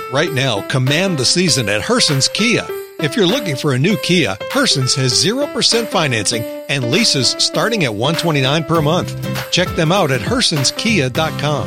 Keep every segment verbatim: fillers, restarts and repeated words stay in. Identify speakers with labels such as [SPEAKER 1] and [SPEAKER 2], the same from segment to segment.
[SPEAKER 1] Right now, command the season at Herson's Kia. If you're looking for a new Kia, Herson's has zero percent financing and leases starting at one hundred twenty-nine dollars per month. Check them out at hersons kia dot com.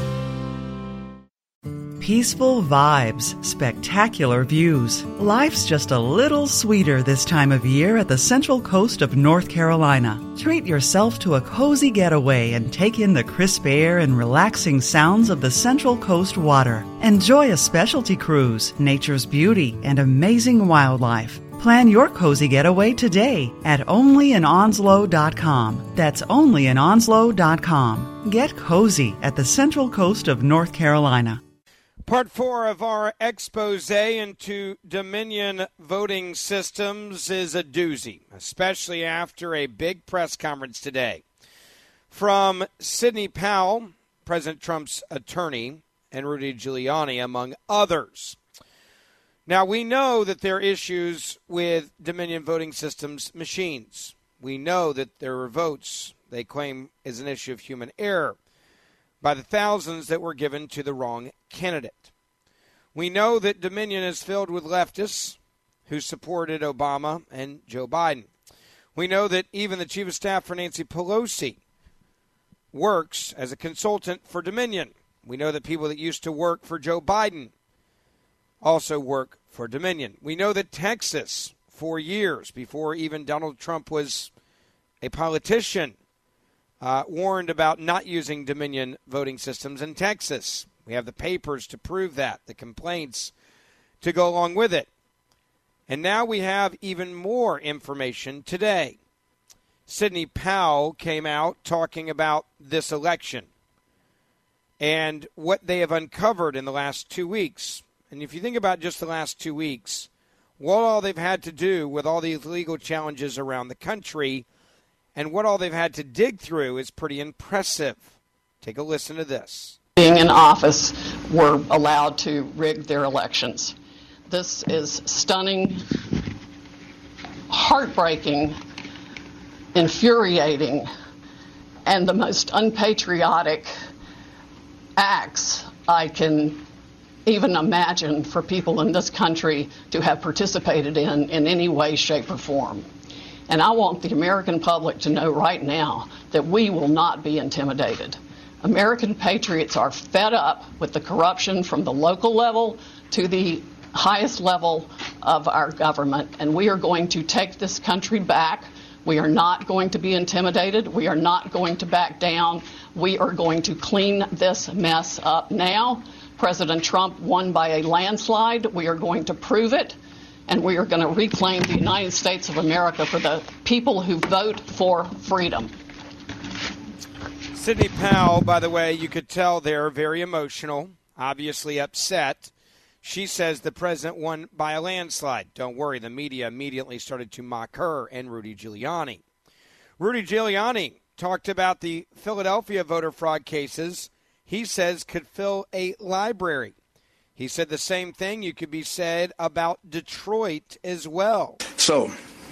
[SPEAKER 2] Peaceful vibes, spectacular views. Life's just a little sweeter this time of year at the Central Coast of North Carolina. Treat yourself to a cozy getaway and take in the crisp air and relaxing sounds of the Central Coast water. Enjoy a specialty cruise, nature's beauty, and amazing wildlife. Plan your cozy getaway today at only in onslow dot com. That's only in onslow dot com. Get cozy at the Central Coast of North Carolina.
[SPEAKER 3] Part four of our expose into Dominion voting systems is a doozy, especially after a big press conference today from Sidney Powell, President Trump's attorney, and Rudy Giuliani, among others. Now, we know that there are issues with Dominion voting systems machines. We know that there are votes they claim is an issue of human error by the thousands that were given to the wrong candidate. We know that Dominion is filled with leftists who supported Obama and Joe Biden. We know that even the chief of staff for Nancy Pelosi works as a consultant for Dominion. We know that people that used to work for Joe Biden also work for Dominion. We know that Texas, for years before even Donald Trump was a politician, Uh, warned about not using Dominion voting systems in Texas. We have the papers to prove that, the complaints to go along with it. And now we have even more information today. Sidney Powell came out talking about this election and what they have uncovered in the last two weeks. And if you think about just the last two weeks, what all they've had to do with all these legal challenges around the country and what all they've had to dig through is pretty impressive. Take a listen to this.
[SPEAKER 4] Being in office, were allowed to rig their elections. This is stunning, heartbreaking, infuriating, and the most unpatriotic acts I can even imagine for people in this country to have participated in in any way, shape, or form. And I want the American public to know right now that we will not be intimidated. American patriots are fed up with the corruption from the local level to the highest level of our government, and we are going to take this country back. We are not going to be intimidated. We are not going to back down. We are going to clean this mess up now. President Trump won by a landslide. We are going to prove it. And we are going to reclaim the United States of America for the people who vote for freedom.
[SPEAKER 3] Sidney Powell, by the way, you could tell they're very emotional, obviously upset. She says the president won by a landslide. Don't worry, the media immediately started to mock her and Rudy Giuliani. Rudy Giuliani talked about the Philadelphia voter fraud cases he says could fill a library. He said the same thing you could be said about Detroit as well.
[SPEAKER 5] So,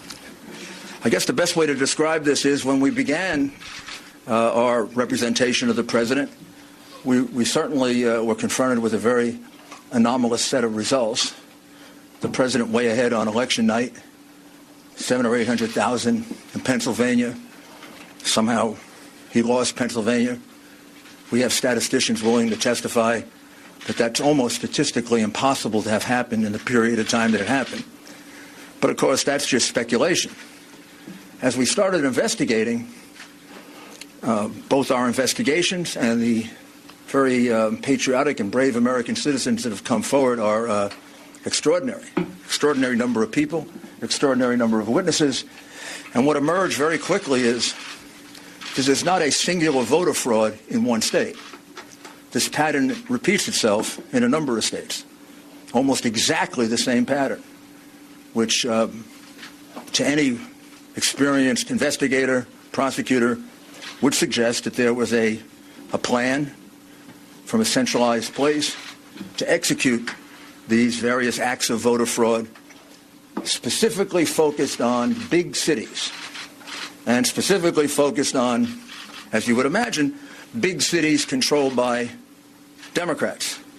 [SPEAKER 5] I guess the best way to describe this is when we began uh, our representation of the president, we, we certainly uh, were confronted with a very anomalous set of results. The president way ahead on election night, seven or eight hundred thousand in Pennsylvania. Somehow he lost Pennsylvania. We have statisticians willing to testify that that's almost statistically impossible to have happened in the period of time that it happened. But, of course, that's just speculation. As we started investigating, uh, both our investigations and the very uh, patriotic and brave American citizens that have come forward are uh, extraordinary. Extraordinary number of people, extraordinary number of witnesses. And what emerged very quickly is that there's not a singular voter fraud in one state. This pattern repeats itself in a number of states, almost exactly the same pattern, which uh, to any experienced investigator, prosecutor, would suggest that there was a, a plan from a centralized place to execute these various acts of voter fraud, specifically focused on big cities, and specifically focused on, as you would imagine, big cities controlled by Democrats.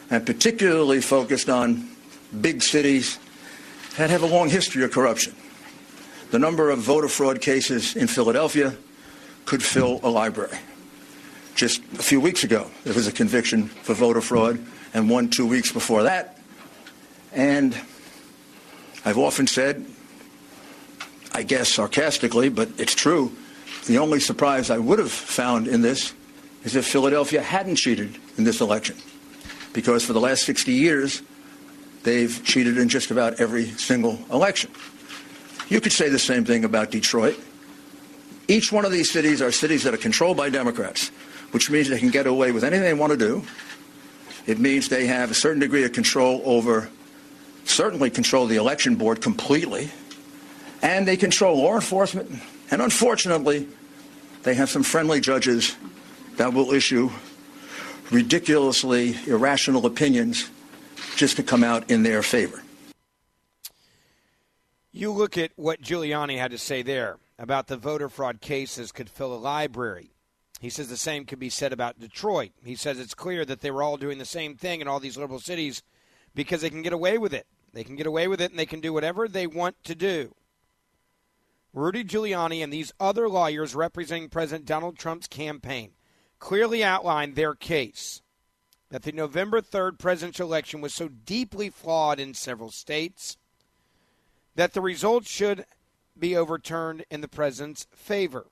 [SPEAKER 5] and particularly focused on big cities that have a long history of corruption. The number of voter fraud cases in Philadelphia could fill a library. Just a few weeks ago, there was a conviction for voter fraud, and one two weeks before that. And I've often said, I guess sarcastically, but it's true, the only surprise I would have found in this is if Philadelphia hadn't cheated in this election. Because for the last sixty years, they've cheated in just about every single election. You could say the same thing about Detroit. Each one of these cities are cities that are controlled by Democrats, which means they can get away with anything they want to do. It means they have a certain degree of control over, certainly control the election board completely, and they control law enforcement. And unfortunately, they have some friendly judges that will issue ridiculously irrational opinions just to come out in their favor.
[SPEAKER 3] You look at what Giuliani had to say there about the voter fraud cases could fill a library. He says the same could be said about Detroit. He says it's clear that they were all doing the same thing in all these liberal cities because they can get away with it. They can get away with it and they can do whatever they want to do. Rudy Giuliani and these other lawyers representing President Donald Trump's campaign clearly outlined their case that the November third presidential election was so deeply flawed in several states that the results should be overturned in the president's favor.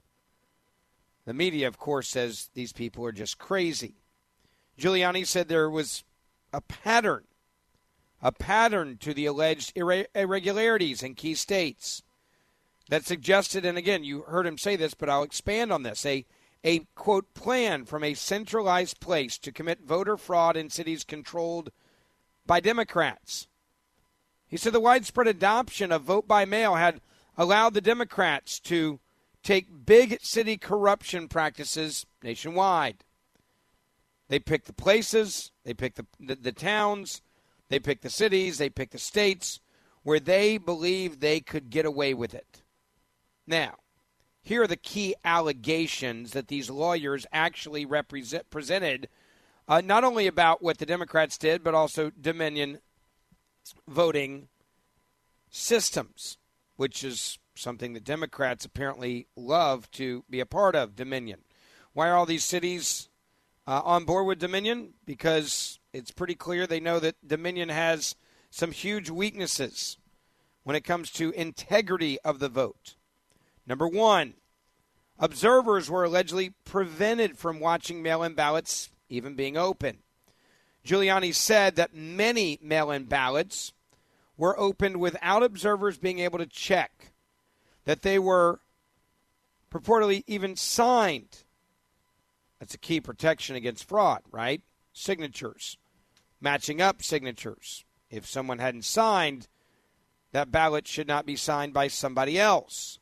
[SPEAKER 3] The media, of course, says these people are just crazy. Giuliani said there was a pattern, a pattern to the alleged irre- irregularities in key states that suggested, and again, you heard him say this, but I'll expand on this, a, a, quote, plan from a centralized place to commit voter fraud in cities controlled by Democrats. He said the widespread adoption of vote by mail had allowed the Democrats to take big city corruption practices nationwide. They pick the places, they pick the, the, the towns, they pick the cities, they pick the states where they believe they could get away with it. Now, here are the key allegations that these lawyers actually represent, presented, uh, not only about what the Democrats did, but also Dominion voting systems, which is something that Democrats apparently love to be a part of, Dominion. Why are all these cities uh, on board with Dominion? Because it's pretty clear they know that Dominion has some huge weaknesses when it comes to integrity of the vote. Number one, observers were allegedly prevented from watching mail-in ballots even being open. Giuliani said that many mail-in ballots were opened without observers being able to check that they were purportedly even signed. That's a key protection against fraud, right? Signatures, matching up signatures. If someone hadn't signed, that ballot should not be signed by somebody else.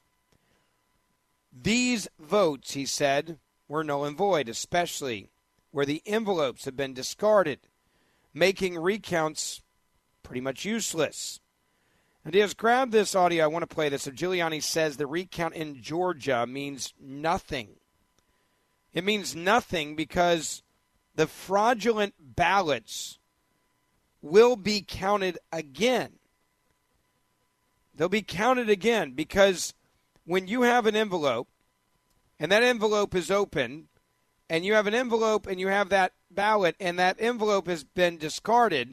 [SPEAKER 3] These votes, he said, were null and void, especially where the envelopes had been discarded, making recounts pretty much useless. And he has grabbed this audio. I want to play this. So Giuliani says the recount in Georgia means nothing. It means nothing because the fraudulent ballots will be counted again. They'll be counted again because when you have an envelope and that envelope is open and you have an envelope and you have that ballot and that envelope has been discarded,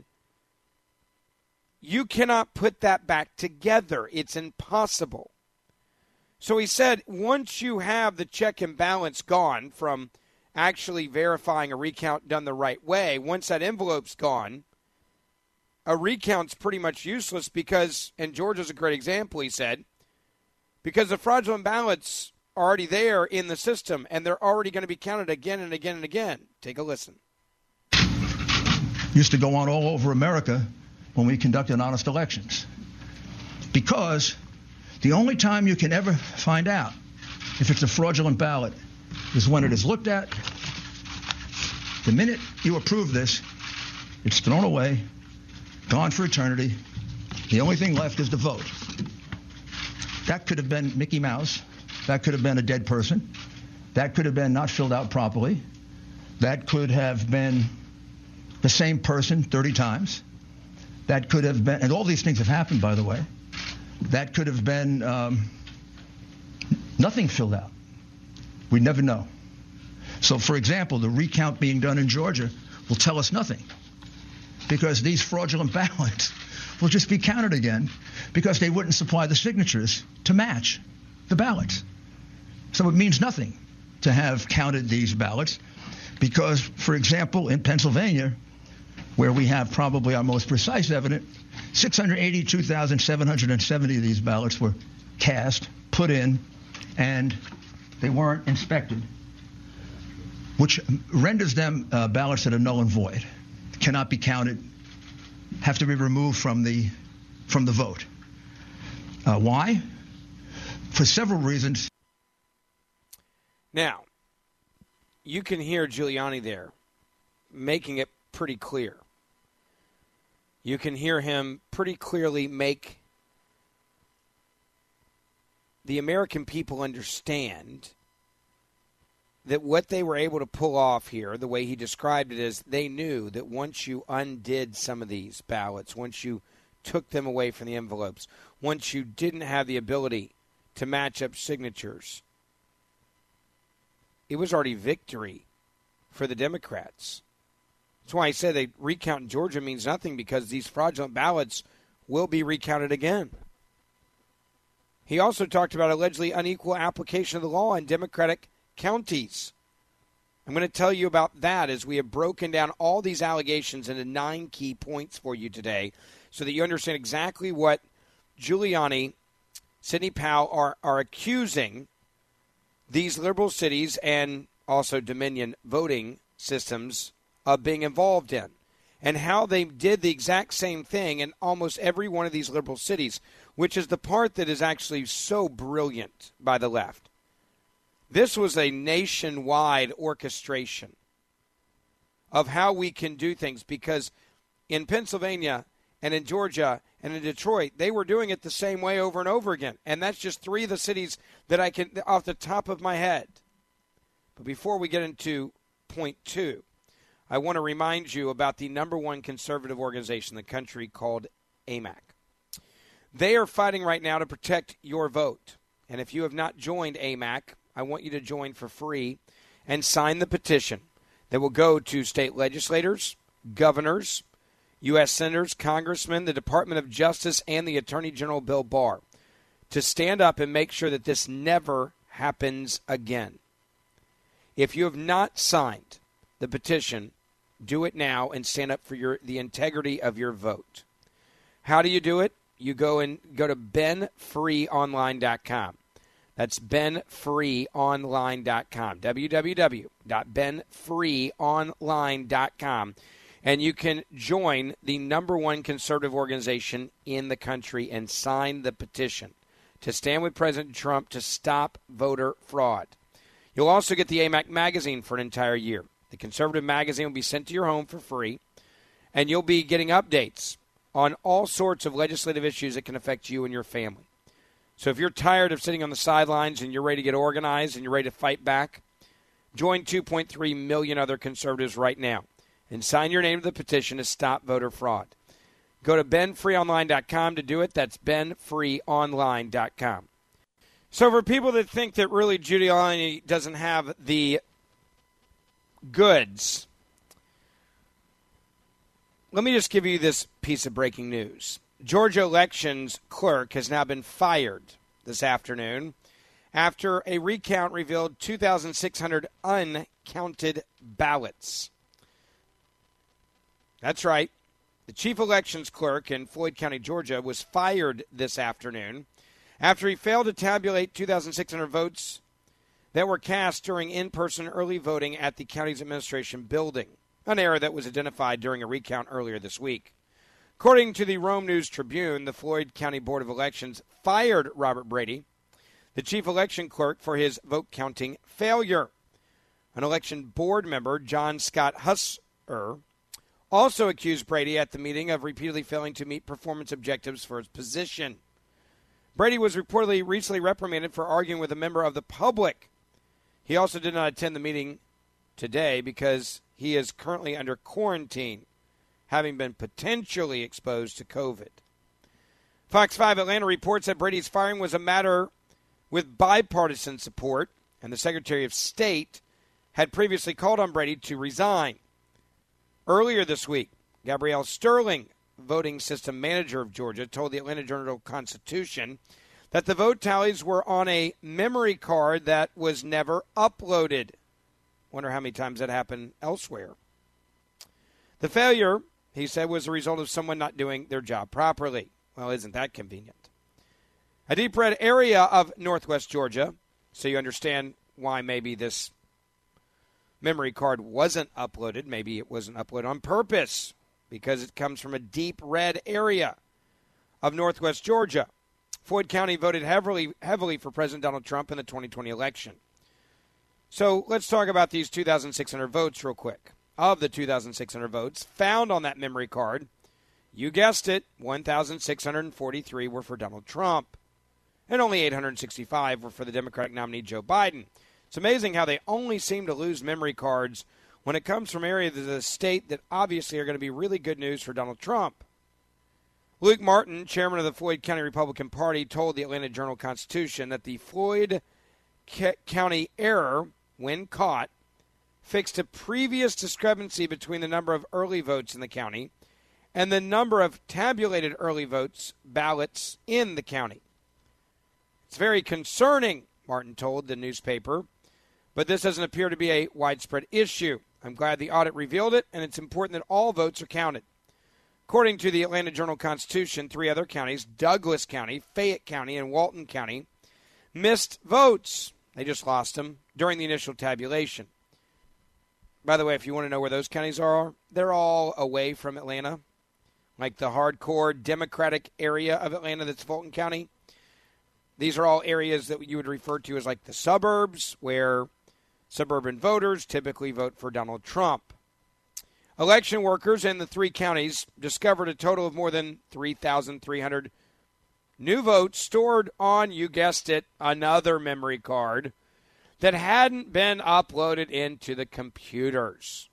[SPEAKER 3] you cannot put that back together. It's impossible. So he said once you have the check and balance gone from actually verifying a recount done the right way, once that envelope's gone, a recount's pretty much useless because, and Georgia's a great example, he said, because the fraudulent ballots are already there in the system and they're already going to be counted again and again and again. Take a listen.
[SPEAKER 5] Used to go on all over America when we conducted honest elections. Because the only time you can ever find out if it's a fraudulent ballot is when it is looked at. The minute you approve this, it's thrown away, gone for eternity. The only thing left is the vote. That could have been Mickey Mouse. That could have been a dead person. That could have been not filled out properly. That could have been the same person thirty times. That could have been, and all these things have happened, by the way. That could have been um, nothing filled out. We never know. So, for example, the recount being done in Georgia will tell us nothing, because these fraudulent ballots will just be counted again because they wouldn't supply the signatures to match the ballots. So it means nothing to have counted these ballots because, for example, in Pennsylvania, where we have probably our most precise evidence, six hundred eighty-two thousand seven hundred seventy of these ballots were cast, put in, and they weren't inspected, which renders them uh, ballots that are null and void, cannot be counted, have to be removed from the from the vote. Uh, why? For several reasons.
[SPEAKER 3] Now, you can hear Giuliani there making it pretty clear. You can hear him pretty clearly make the American people understand that what they were able to pull off here, the way he described it, is they knew that once you undid some of these ballots, once you took them away from the envelopes, once you didn't have the ability to match up signatures, it was already victory for the Democrats. That's why I said the recount in Georgia means nothing, because these fraudulent ballots will be recounted again. He also talked about allegedly unequal application of the law in Democratic counties. I'm going to tell you about that as we have broken down all these allegations into nine key points for you today so that you understand exactly what Giuliani, Sidney Powell are, are accusing these liberal cities and also Dominion voting systems of being involved in, and how they did the exact same thing in almost every one of these liberal cities, which is the part that is actually so brilliant by the left. This was a nationwide orchestration of how we can do things, because in Pennsylvania and in Georgia and in Detroit, they were doing it the same way over and over again. And that's just three of the cities that I can, off the top of my head. But before we get into point two, I want to remind you about the number one conservative organization in the country called A M A C. They are fighting right now to protect your vote. And if you have not joined A M A C, I want you to join for free and sign the petition that will go to state legislators, governors, U S senators, congressmen, the Department of Justice, and the Attorney General Bill Barr to stand up and make sure that this never happens again. If you have not signed the petition, do it now and stand up for your the integrity of your vote. How do you do it? You go and go to ben free online dot com. That's ben free online dot com. w w w dot ben free online dot com. And you can join the number one conservative organization in the country and sign the petition to stand with President Trump to stop voter fraud. You'll also get the A M A C magazine for an entire year. The conservative magazine will be sent to your home for free, and you'll be getting updates on all sorts of legislative issues that can affect you and your family. So if you're tired of sitting on the sidelines and you're ready to get organized and you're ready to fight back, join two point three million other conservatives right now and sign your name to the petition to stop voter fraud. Go to ben free online dot com to do it. That's ben free online dot com. So for people that think that really Giuliani doesn't have the goods, let me just give you this piece of breaking news. Georgia elections clerk has now been fired this afternoon after a recount revealed two thousand six hundred uncounted ballots. That's right. The chief elections clerk in Floyd County, Georgia, was fired this afternoon after he failed to tabulate two thousand six hundred votes that were cast during in-person early voting at the county's administration building, an error that was identified during a recount earlier this week. According to the Rome News Tribune, the Floyd County Board of Elections fired Robert Brady, the chief election clerk, for his vote-counting failure. An election board member, John Scott Husser, also accused Brady at the meeting of repeatedly failing to meet performance objectives for his position. Brady was reportedly recently reprimanded for arguing with a member of the public. He also did not attend the meeting today because he is currently under quarantine having been potentially exposed to COVID. Fox five Atlanta reports that Brady's firing was a matter with bipartisan support, and the Secretary of State had previously called on Brady to resign. Earlier this week, Gabrielle Sterling, voting system manager of Georgia, told the Atlanta Journal-Constitution that the vote tallies were on a memory card that was never uploaded. Wonder how many times that happened elsewhere. The failure, he said, was the result of someone not doing their job properly. Well, isn't that convenient? A deep red area of northwest Georgia, so you understand why maybe this memory card wasn't uploaded. Maybe it wasn't uploaded on purpose because it comes from a deep red area of northwest Georgia. Floyd County voted heavily, heavily for President Donald Trump in the twenty twenty election. So let's talk about these two thousand six hundred votes real quick. Of the two thousand six hundred votes found on that memory card, you guessed it, one thousand six hundred forty-three were for Donald Trump, and only eight hundred sixty-five were for the Democratic nominee Joe Biden. It's amazing how they only seem to lose memory cards when it comes from areas of the state that obviously are going to be really good news for Donald Trump. Luke Martin, chairman of the Floyd County Republican Party, told the Atlanta Journal-Constitution that the Floyd County error, when caught, fixed a previous discrepancy between the number of early votes in the county and the number of tabulated early votes ballots in the county. It's very concerning, Martin told the newspaper, but this doesn't appear to be a widespread issue. I'm glad the audit revealed it, and it's important that all votes are counted. According to the Atlanta Journal-Constitution, three other counties, Douglas County, Fayette County, and Walton County, missed votes. They just lost them during the initial tabulation. By the way, if you want to know where those counties are, they're all away from Atlanta, like the hardcore Democratic area of Atlanta that's Fulton County. These are all areas that you would refer to as like the suburbs, where suburban voters typically vote for Donald Trump. Election workers in the three counties discovered a total of more than three thousand three hundred new votes stored on, you guessed it, another memory card that hadn't been uploaded into the computers.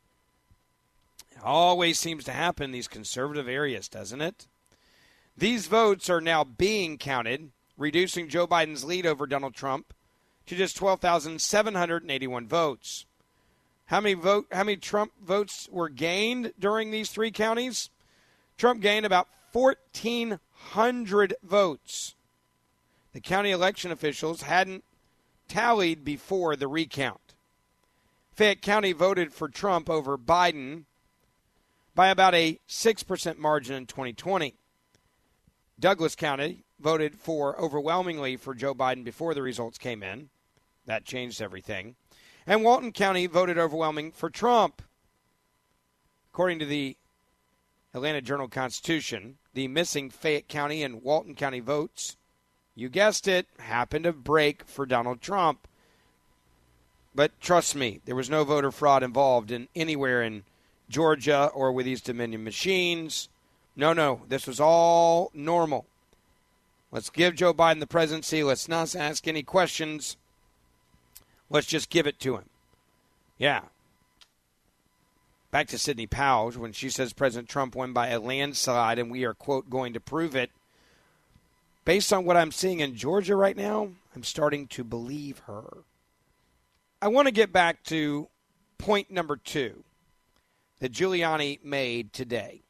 [SPEAKER 3] It always seems to happen in these conservative areas, doesn't it? These votes are now being counted, reducing Joe Biden's lead over Donald Trump to just twelve thousand seven hundred eighty-one votes. How many vote? How many Trump votes were gained during these three counties? Trump gained about fourteen hundred votes. The county election officials hadn't tallied before the recount. Fayette County voted for Trump over Biden by about a six percent margin in twenty twenty. Douglas County voted for overwhelmingly for Joe Biden before the results came in. That changed everything. And Walton County voted overwhelming for Trump. According to the Atlanta Journal-Constitution, the missing Fayette County and Walton County votes, you guessed it, happened to break for Donald Trump. But trust me, there was no voter fraud involved in anywhere in Georgia or with these Dominion machines. No, no, this was all normal. Let's give Joe Biden the presidency. Let's not ask any questions. Let's just give it to him. Yeah. Back to Sidney Powell when she says President Trump won by a landslide and we are, quote, going to prove it. Based on what I'm seeing in Georgia right now, I'm starting to believe her. I want to get back to point number two that Giuliani made today.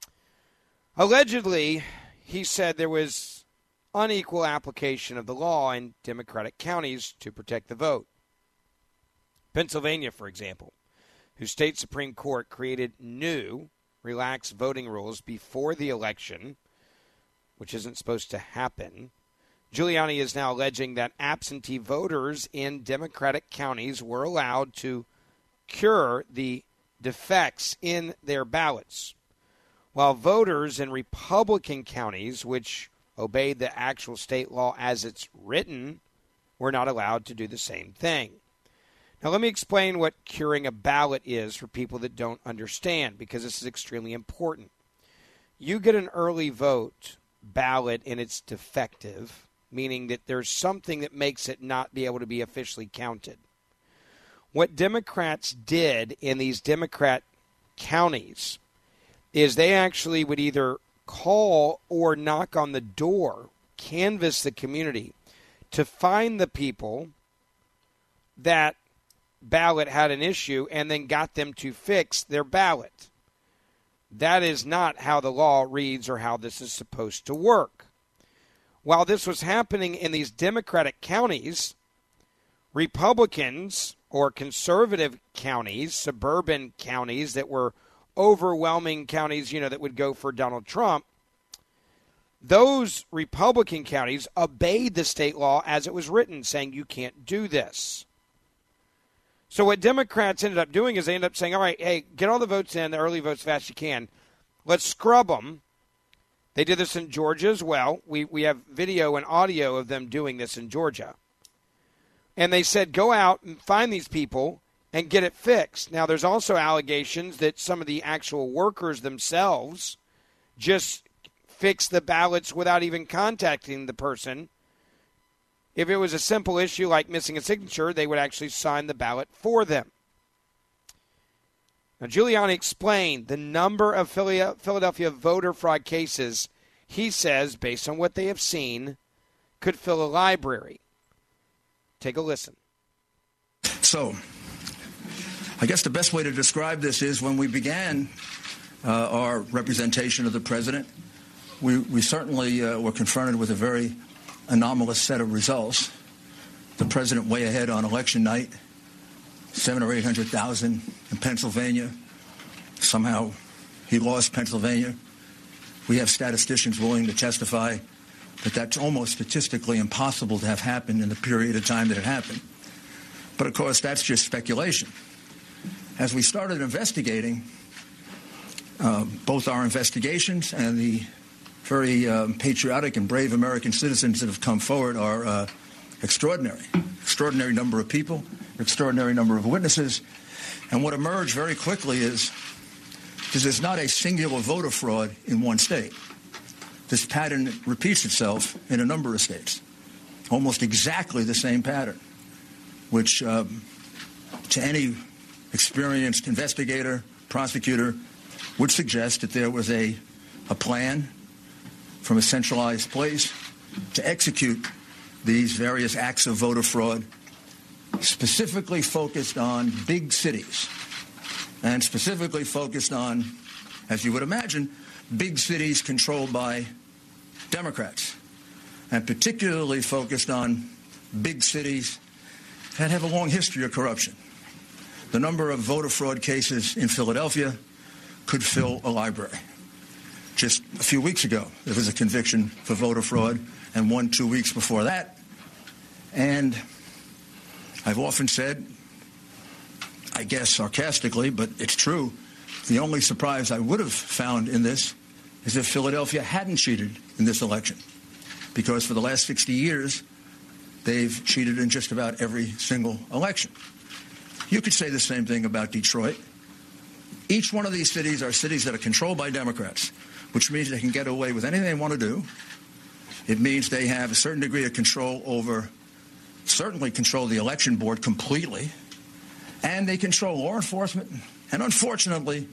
[SPEAKER 3] Allegedly, he said there was unequal application of the law in Democratic counties to protect the vote. Pennsylvania, for example, whose state Supreme Court created new, relaxed voting rules before the election, which isn't supposed to happen. Giuliani is now alleging that absentee voters in Democratic counties were allowed to cure the defects in their ballots, while voters in Republican counties, which obeyed the actual state law as it's written, were not allowed to do the same thing. Now, let me explain what curing a ballot is for people that don't understand, because this is extremely important. You get an early vote ballot and it's defective, meaning that there's something that makes it not be able to be officially counted. What Democrats did in these Democrat counties, is they actually would either call or knock on the door, canvass the community to find the people that ballot had an issue and then got them to fix their ballot. That is not how the law reads or how this is supposed to work. While this was happening in these Democratic counties, Republicans or conservative counties, suburban counties that were overwhelming counties, you know, that would go for Donald Trump, those Republican counties obeyed the state law as it was written, saying you can't do this. So what Democrats ended up doing is they ended up saying, all right, hey, get all the votes in, the early votes fast as you can. Let's scrub them. They did this in Georgia as well. We we have video and audio of them doing this in Georgia. And they said, go out and find these people and get it fixed. Now, there's also allegations that some of the actual workers themselves just fix the ballots without even contacting the person. If it was a simple issue like missing a signature, they would actually sign the ballot for them. Now, Giuliani explained the number of Philadelphia voter fraud cases, he says, based on what they have seen, could fill a library. Take a listen.
[SPEAKER 5] So, I guess the best way to describe this is when we began uh, our representation of the president, we, we certainly uh, were confronted with a very anomalous set of results. The president way ahead on election night, seven or eight hundred thousand in Pennsylvania. Somehow he lost Pennsylvania. We have statisticians willing to testify that that's almost statistically impossible to have happened in the period of time that it happened. But of course, that's just speculation. As we started investigating, uh, both our investigations and the very um, patriotic and brave American citizens that have come forward are uh, extraordinary. Extraordinary number of people, extraordinary number of witnesses. And what emerged very quickly is this is not a singular voter fraud in one state. This pattern repeats itself in a number of states. Almost exactly the same pattern, which um, to any experienced investigator, prosecutor, would suggest that there was a, a plan from a centralized place to execute these various acts of voter fraud, specifically focused on big cities, and specifically focused on, as you would imagine, big cities controlled by Democrats, and particularly focused on big cities that have a long history of corruption. The number of voter fraud cases in Philadelphia could fill a library. Just a few weeks ago, there was a conviction for voter fraud, and one two weeks before that. And I've often said, I guess sarcastically, but it's true, the only surprise I would have found in this is if Philadelphia hadn't cheated in this election. Because for the last sixty years, they've cheated in just about every single election. You could say the same thing about Detroit. Each one of these cities are cities that are controlled by Democrats, which means they can get away with anything they want to do. It means they have a certain degree of control over, certainly control the election board completely, and they control law enforcement. And unfortunately,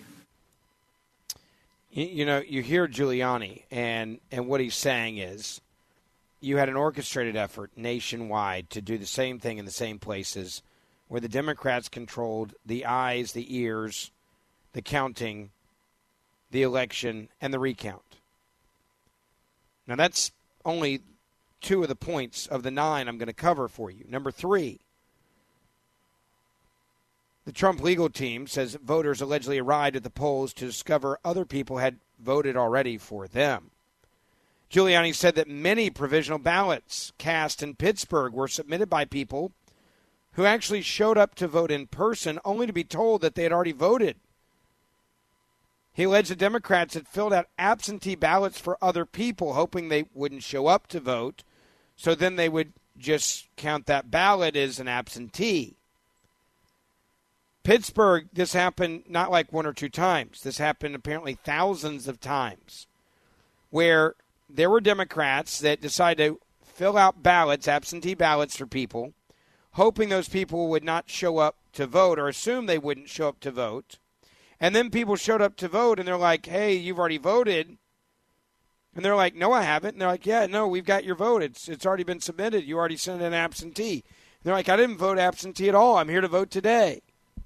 [SPEAKER 3] you, you know, you hear Giuliani, and, and what he's saying is you had an orchestrated effort nationwide to do the same thing in the same places where the Democrats controlled the eyes, the ears, the counting, the election, and the recount. Now, that's only two of the points of the nine I'm going to cover for you. Number three, the Trump legal team says voters allegedly arrived at the polls to discover other people had voted already for them. Giuliani said that many provisional ballots cast in Pittsburgh were submitted by people who actually showed up to vote in person only to be told that they had already voted. He alleged the Democrats had filled out absentee ballots for other people, hoping they wouldn't show up to vote, so then they would just count that ballot as an absentee. Pittsburgh, this happened not like one or two times. This happened apparently thousands of times, where there were Democrats that decided to fill out ballots, absentee ballots for people, hoping those people would not show up to vote or assume they wouldn't show up to vote. And then people showed up to vote, and they're like, hey, you've already voted. And they're like, no, I haven't. And they're like, yeah, no, we've got your vote. It's it's already been submitted. You already sent in absentee. And they're like, I didn't vote absentee at all. I'm here to vote today.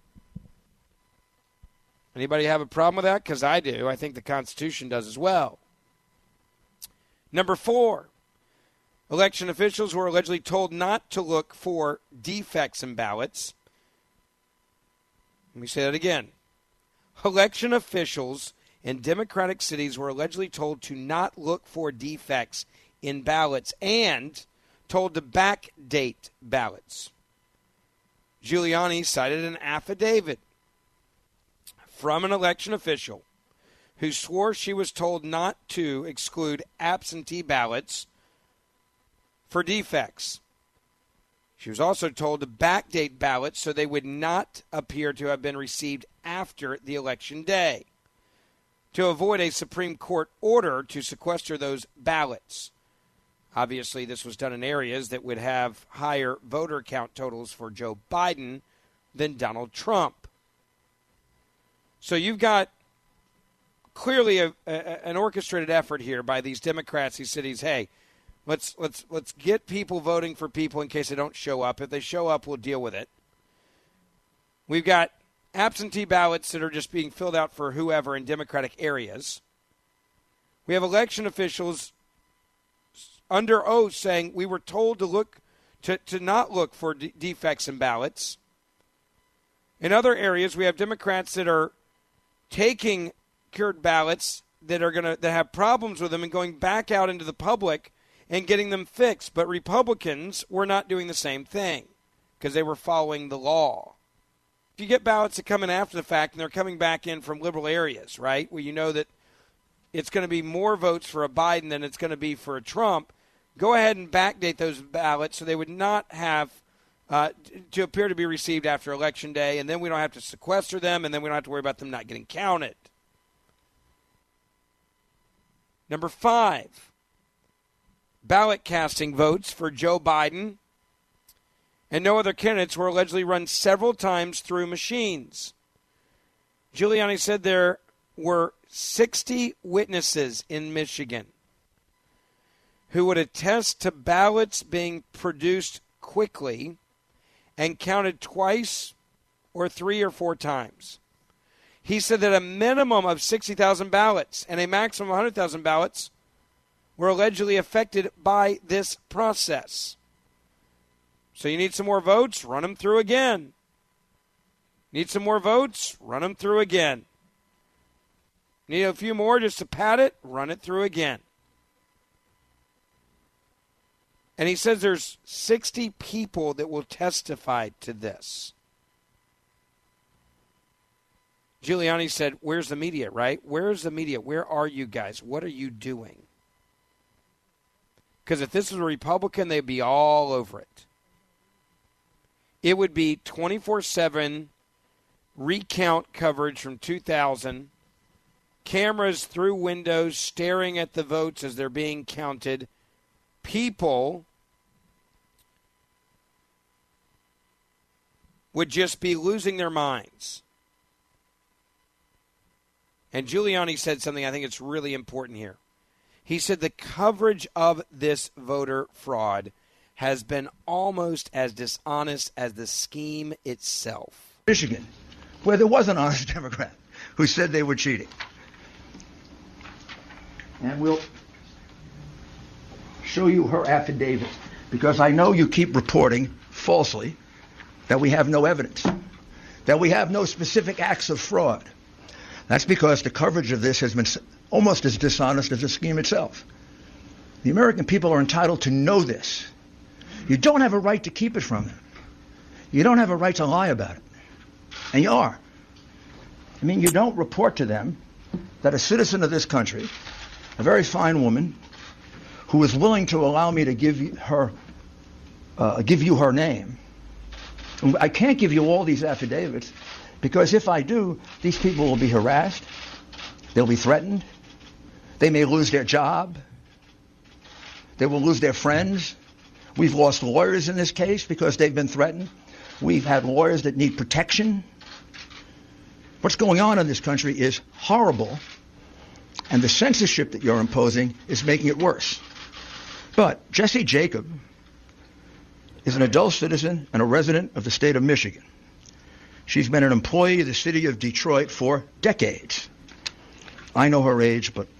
[SPEAKER 3] Anybody have a problem with that? Because I do. I think the Constitution does as well. Number four, election officials were allegedly told not to look for defects in ballots. Let me say that again. Election officials in Democratic cities were allegedly told to not look for defects in ballots and told to backdate ballots. Giuliani cited an affidavit from an election official who swore she was told not to exclude absentee ballots for defects. She was also told to backdate ballots so they would not appear to have been received after the election day, to avoid a Supreme Court order to sequester those ballots. Obviously, this was done in areas that would have higher voter count totals for Joe Biden than Donald Trump. So you've got clearly a, a, an orchestrated effort here by these Democrats, these cities. Hey, let's let's let's get people voting for people in case they don't show up. If they show up, we'll deal with it. We've got absentee ballots that are just being filled out for whoever in Democratic areas. We have election officials under oath saying we were told to look to, to not look for de- defects in ballots. In other areas, we have Democrats that are taking cured ballots that are going to that have problems with them and going back out into the public and getting them fixed. But Republicans were not doing the same thing because they were following the law. If you get ballots that come in after the fact and they're coming back in from liberal areas, right, where you know that it's going to be more votes for a Biden than it's going to be for a Trump, go ahead and backdate those ballots so they would not have uh, to appear to be received after Election Day, and then we don't have to sequester them, and then we don't have to worry about them not getting counted. Number five, ballot casting votes for Joe Biden and no other candidates were allegedly run several times through machines. Giuliani said there were sixty witnesses in Michigan who would attest to ballots being produced quickly and counted twice or three or four times. He said that a minimum of sixty thousand ballots and a maximum of one hundred thousand ballots were allegedly affected by this process. So you need some more votes? Run them through again. Need some more votes? Run them through again. Need a few more just to pad it? Run it through again. And he says there's sixty people that will testify to this. Giuliani said, where's the media, right? Where's the media? Where are you guys? What are you doing? Because if this was a Republican, they'd be all over it. It would be twenty-four seven recount coverage from two thousand, cameras through windows staring at the votes as they're being counted, people would just be losing their minds. And Giuliani said something I think it's really important here. He said the coverage of this voter fraud has been almost as dishonest as the scheme itself.
[SPEAKER 5] Michigan, where there was an honest Democrat who said they were cheating. And we'll show you her affidavit, because I know you keep reporting falsely that we have no evidence, that we have no specific acts of fraud. That's because the coverage of this has been almost as dishonest as the scheme itself. The American people are entitled to know this. You don't have a right to keep it from them. You don't have a right to lie about it. And you are. I mean, you don't report to them that a citizen of this country, a very fine woman, who is willing to allow me to give you her, uh, give you her name. I can't give you all these affidavits, because if I do, these people will be harassed. They'll be threatened. They may lose their job. They will lose their friends. We've lost lawyers in this case because they've been threatened. We've had lawyers that need protection. What's going on in this country is horrible, and the censorship that you're imposing is making it worse. But Jessie Jacob is an adult citizen and a resident of the state of Michigan. She's been an employee of the city of Detroit for decades. I know her age, but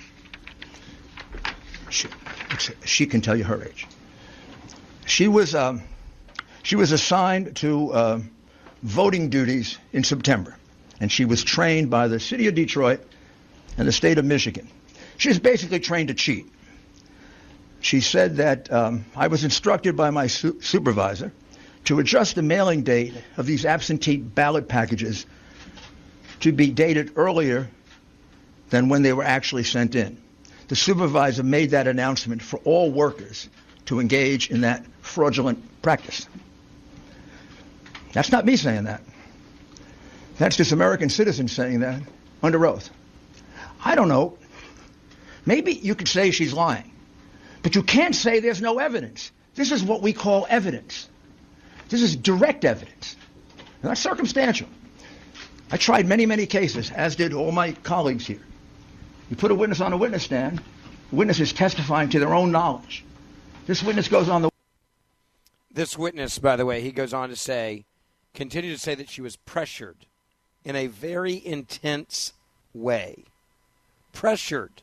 [SPEAKER 5] she, she can tell you her age. She was um, she was assigned to uh, voting duties in September, and she was trained by the city of Detroit and the state of Michigan. She was basically trained to cheat. She said that um, I was instructed by my su- supervisor to adjust the mailing date of these absentee ballot packages to be dated earlier than when they were actually sent in. The supervisor made that announcement for all workers to engage in that fraudulent practice. That's not me saying that. That's this American citizen saying that under oath. I don't know. Maybe you could say she's lying, but you can't say there's no evidence. This is what we call evidence. This is direct evidence, not circumstantial. I tried many, many cases, as did all my colleagues here. You put a witness on a witness stand, the witness is testifying to their own knowledge. This witness goes on the...
[SPEAKER 3] This witness, by the way, he goes on to say, continued to say that she was pressured in a very intense way. Pressured.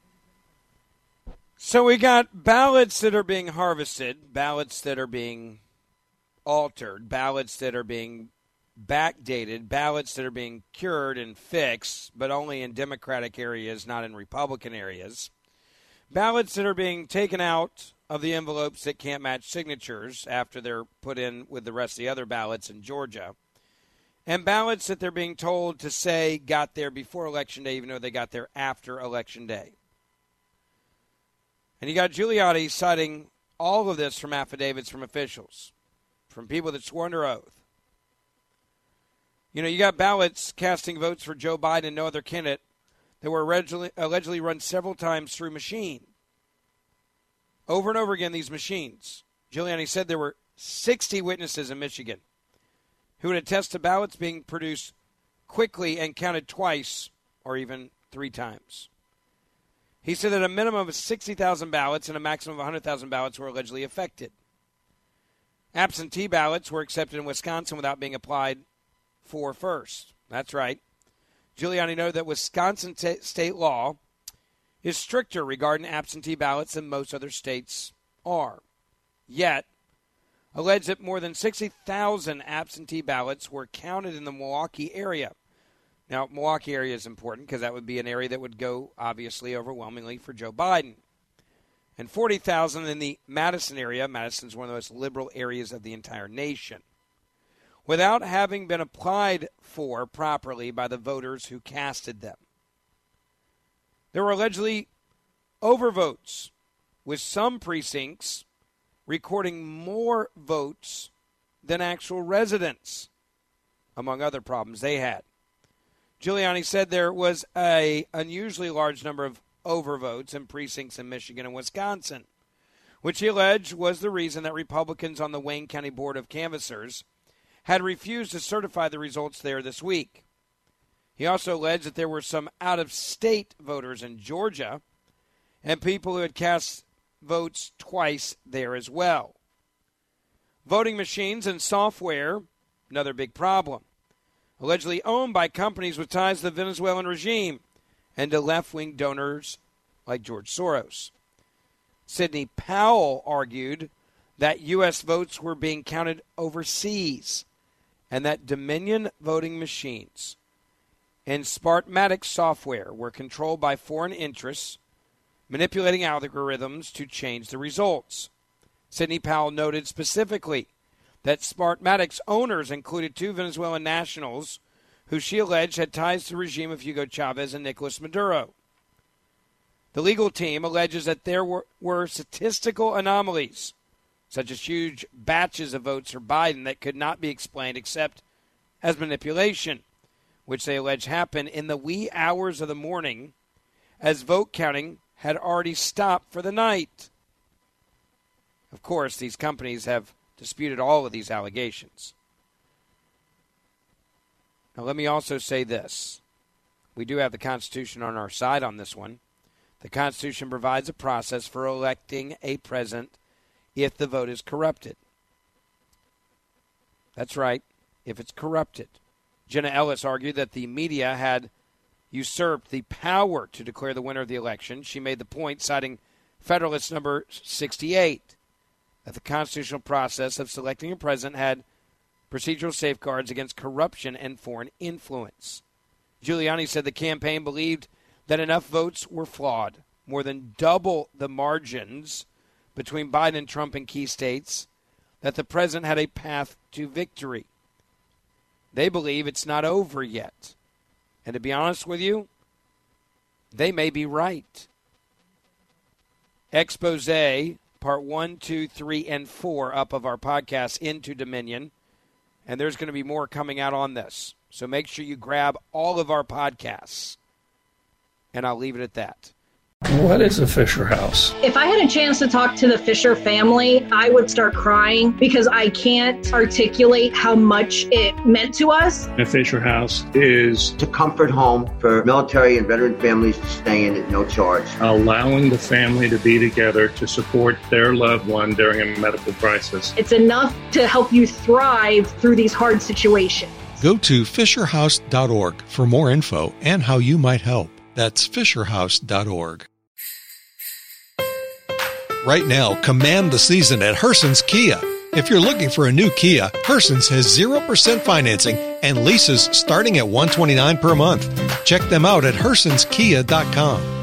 [SPEAKER 3] So we got ballots that are being harvested, ballots that are being altered, ballots that are being backdated, ballots that are being cured and fixed, but only in Democratic areas, not in Republican areas. Ballots that are being taken out of the envelopes that can't match signatures after they're put in with the rest of the other ballots in Georgia. And ballots that they're being told to say got there before Election Day, even though they got there after Election Day. And you got Giuliani citing all of this from affidavits from officials, from people that swore under oath. You know, you got ballots casting votes for Joe Biden and no other candidate that were allegedly, allegedly run several times through machine. Over and over again, these machines. Giuliani said there were sixty witnesses in Michigan who would attest to ballots being produced quickly and counted twice or even three times. He said that a minimum of sixty thousand ballots and a maximum of one hundred thousand ballots were allegedly affected. Absentee ballots were accepted in Wisconsin without being applied for first. That's right. Giuliani noted that Wisconsin t- state law is stricter regarding absentee ballots than most other states are. Yet, alleged that more than sixty thousand absentee ballots were counted in the Milwaukee area. Now, Milwaukee area is important because that would be an area that would go, obviously, overwhelmingly for Joe Biden. And forty thousand in the Madison area. Madison's one of the most liberal areas of the entire nation, without having been applied for properly by the voters who casted them. There were allegedly overvotes, with some precincts recording more votes than actual residents, among other problems they had. Giuliani said there was an unusually large number of overvotes in precincts in Michigan and Wisconsin, which he alleged was the reason that Republicans on the Wayne County Board of Canvassers had refused to certify the results there this week. He also alleged that there were some out-of-state voters in Georgia and people who had cast votes twice there as well. Voting machines and software, another big problem, allegedly owned by companies with ties to the Venezuelan regime and to left-wing donors like George Soros. Sidney Powell argued that U S votes were being counted overseas and that Dominion voting machines and Smartmatic software were controlled by foreign interests, manipulating algorithms to change the results. Sidney Powell noted specifically that Smartmatic's owners included two Venezuelan nationals who she alleged had ties to the regime of Hugo Chavez and Nicolas Maduro. The legal team alleges that there were, were statistical anomalies, such as huge batches of votes for Biden that could not be explained except as manipulation, which they allege happened in the wee hours of the morning as vote counting had already stopped for the night. Of course, these companies have disputed all of these allegations. Now, let me also say this. We do have the Constitution on our side on this one. The Constitution provides a process for electing a president if the vote is corrupted. That's right, if it's corrupted. Jenna Ellis argued that the media had usurped the power to declare the winner of the election. She made the point, citing Federalist number sixty-eight, that the constitutional process of selecting a president had procedural safeguards against corruption and foreign influence. Giuliani said the campaign believed that enough votes were flawed, more than double the margins between Biden and Trump in key states, that the president had a path to victory. They believe it's not over yet. And to be honest with you, they may be right. Expose, part one, two, three, and four up of our podcast, Into Dominion. And there's going to be more coming out on this. So make sure you grab all of our podcasts. And I'll leave it at that.
[SPEAKER 6] What is a Fisher House?
[SPEAKER 7] If I had a chance to talk to the Fisher family, I would start crying because I can't articulate how much it meant to us.
[SPEAKER 6] A Fisher House is
[SPEAKER 8] a comfort home for military and veteran families to stay in at no charge.
[SPEAKER 6] Allowing the family to be together to support their loved one during a medical crisis.
[SPEAKER 7] It's enough to help you thrive through these hard situations.
[SPEAKER 1] Go to fisher house dot org for more info and how you might help. That's fisher house dot org. Right now, command the season at Herson's Kia. If you're looking for a new Kia, Herson's has zero percent financing and leases starting at one hundred twenty-nine dollars per month. Check them out at hersons kia dot com.